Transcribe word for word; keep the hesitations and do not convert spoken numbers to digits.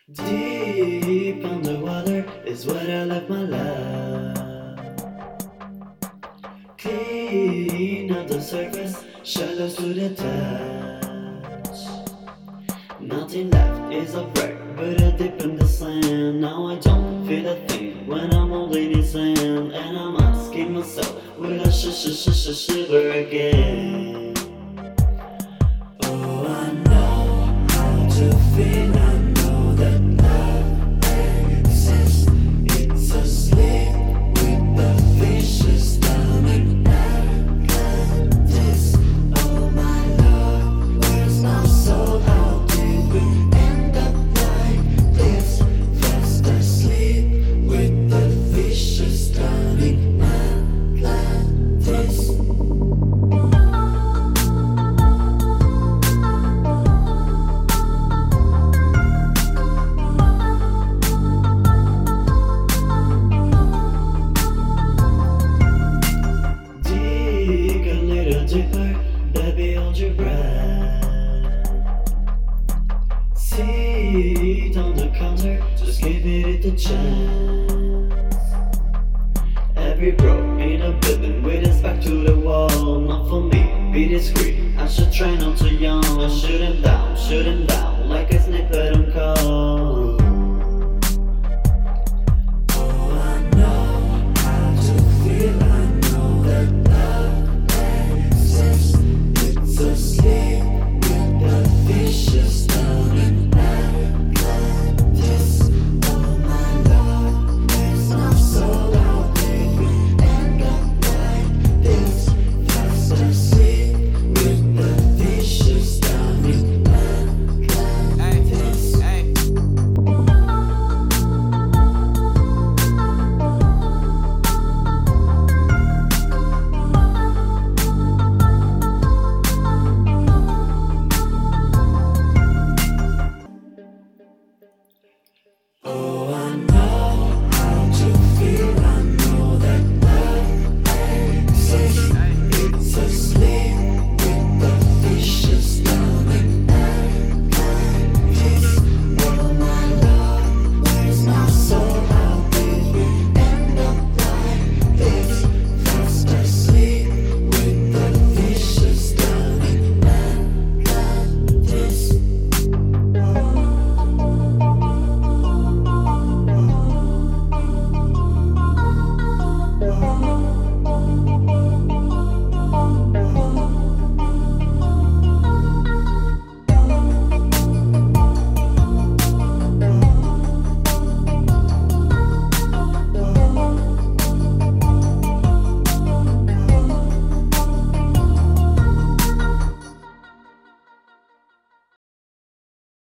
Deep underwater is where I left my love. Clean up the surface, shallow to the touch. Nothing left is a wreck, but a dip in the sand. Now I don't feel a thing when I'm holding his hand, and I'm asking myself, will I sh sh sh sh shiver again? Oh, I know how to feel. I know that love exists. It's asleep with the fishes stomach. Atlantis. Oh my love, where's my soul? How did we end up like this? Fast asleep with the fishes stomach. Atlantis. Deeper, baby, hold your breath. Seat on the counter, just give it a chance. Every bro in a building with his back to the wall. Not for me, be discreet. I should try not to yawn. I shouldn't down, shouldn't down.